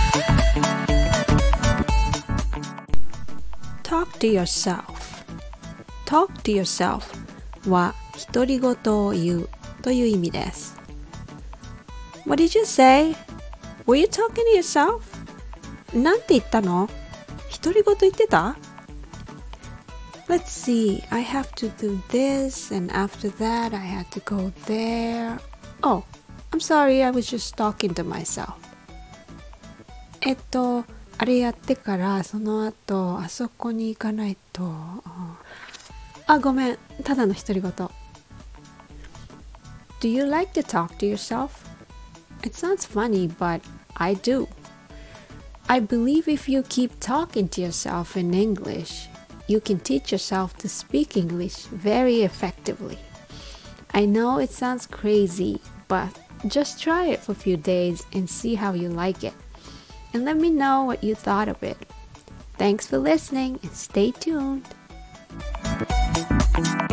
Talk to yourself. Talk to yourself は独り言を言うという意味です。What did you say? Were you talking to yourself? なんて言ったの？独り言言ってた？ Let's see, I have to do this and after that I had to go there. Oh, I'm sorry, I was just talking to myself. あれやってからその後あそこに行かないと。ごめん、ただの独り言。Do you like to talk to yourself? It sounds funny, but I do. I believe if you keep talking to yourself in English, you can teach yourself to speak English very effectively. I know it sounds crazy, but just try it for a few days and see how you like it. And let me know what you thought of it. Thanks for listening and stay tuned.